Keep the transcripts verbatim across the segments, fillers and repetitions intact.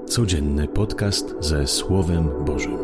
Codzienny podcast ze Słowem Bożym.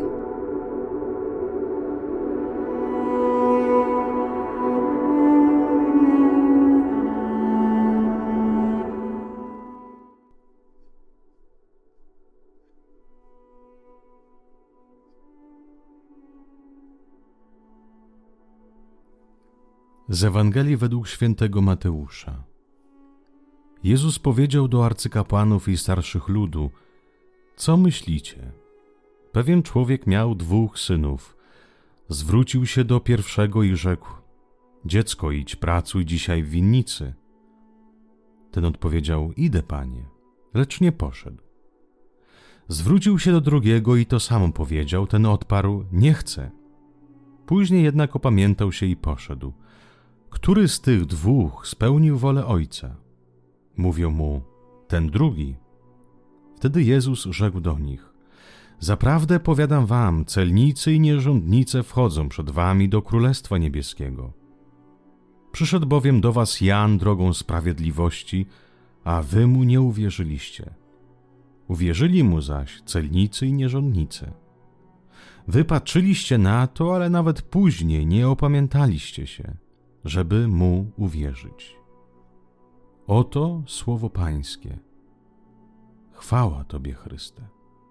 Z Ewangelii według świętego Mateusza. Jezus powiedział do arcykapłanów i starszych ludu: Co myślicie? Pewien człowiek miał dwóch synów. Zwrócił się do pierwszego i rzekł: Dziecko, idź, pracuj dzisiaj w winnicy. Ten odpowiedział: Idę, panie, lecz nie poszedł. Zwrócił się do drugiego i to samo powiedział. Ten odparł: Nie chcę. Później jednak opamiętał się i poszedł. Który z tych dwóch spełnił wolę ojca? Mówią mu: ten drugi. Wtedy Jezus rzekł do nich: Zaprawdę powiadam wam, celnicy i nierządnice wchodzą przed wami do Królestwa Niebieskiego. Przyszedł bowiem do was Jan drogą sprawiedliwości, a wy mu nie uwierzyliście. Uwierzyli mu zaś celnicy i nierządnice. Wy patrzyliście na to, ale nawet później nie opamiętaliście się, żeby mu uwierzyć. Oto słowo Pańskie. Chwała Tobie, Chryste.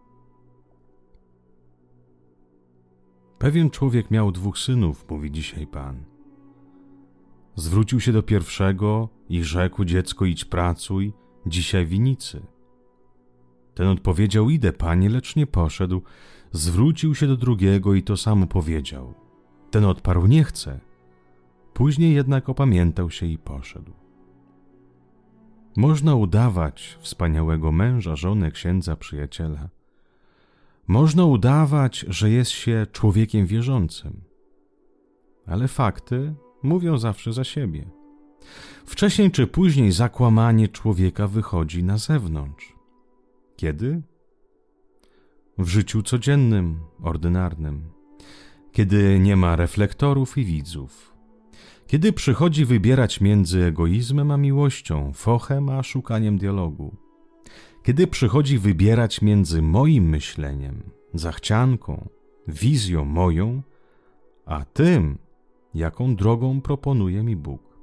Pewien człowiek miał dwóch synów, mówi dzisiaj Pan. Zwrócił się do pierwszego i rzekł: Dziecko, idź, pracuj dzisiaj w winnicy. Ten odpowiedział: Idę, panie, lecz nie poszedł. Zwrócił się do drugiego i to samo powiedział. Ten odparł: Nie chcę. Później jednak opamiętał się i poszedł. Można udawać wspaniałego męża, żonę, księdza, przyjaciela. Można udawać, że jest się człowiekiem wierzącym. Ale fakty mówią zawsze za siebie. Wcześniej czy później zakłamanie człowieka wychodzi na zewnątrz. Kiedy? W życiu codziennym, ordynarnym. Kiedy nie ma reflektorów i widzów. Kiedy przychodzi wybierać między egoizmem a miłością, fochem a szukaniem dialogu. Kiedy przychodzi wybierać między moim myśleniem, zachcianką, wizją moją, a tym, jaką drogą proponuje mi Bóg.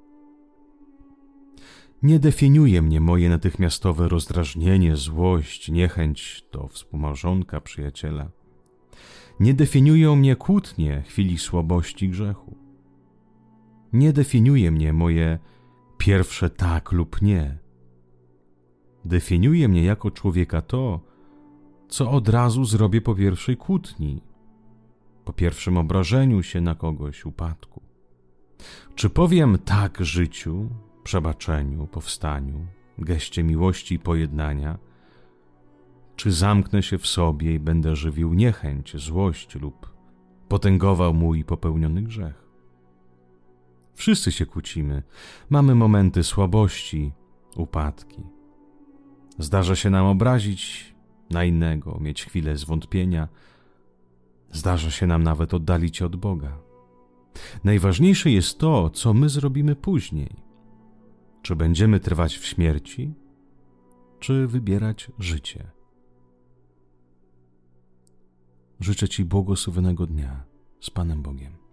Nie definiuje mnie moje natychmiastowe rozdrażnienie, złość, niechęć do współmałżonka, przyjaciela. Nie definiują mnie kłótnie chwili słabości grzechu. Nie definiuje mnie moje pierwsze tak lub nie. Definiuje mnie jako człowieka to, co od razu zrobię po pierwszej kłótni, po pierwszym obrażeniu się na kogoś, upadku. Czy powiem tak życiu, przebaczeniu, powstaniu, geście miłości i pojednania, czy zamknę się w sobie i będę żywił niechęć, złość lub potęgował mój popełniony grzech? Wszyscy się kłócimy, mamy momenty słabości, upadki. Zdarza się nam obrazić na innego, mieć chwilę zwątpienia. Zdarza się nam nawet oddalić się od Boga. Najważniejsze jest to, co my zrobimy później. Czy będziemy trwać w śmierci, czy wybierać życie. Życzę Ci błogosławionego dnia z Panem Bogiem.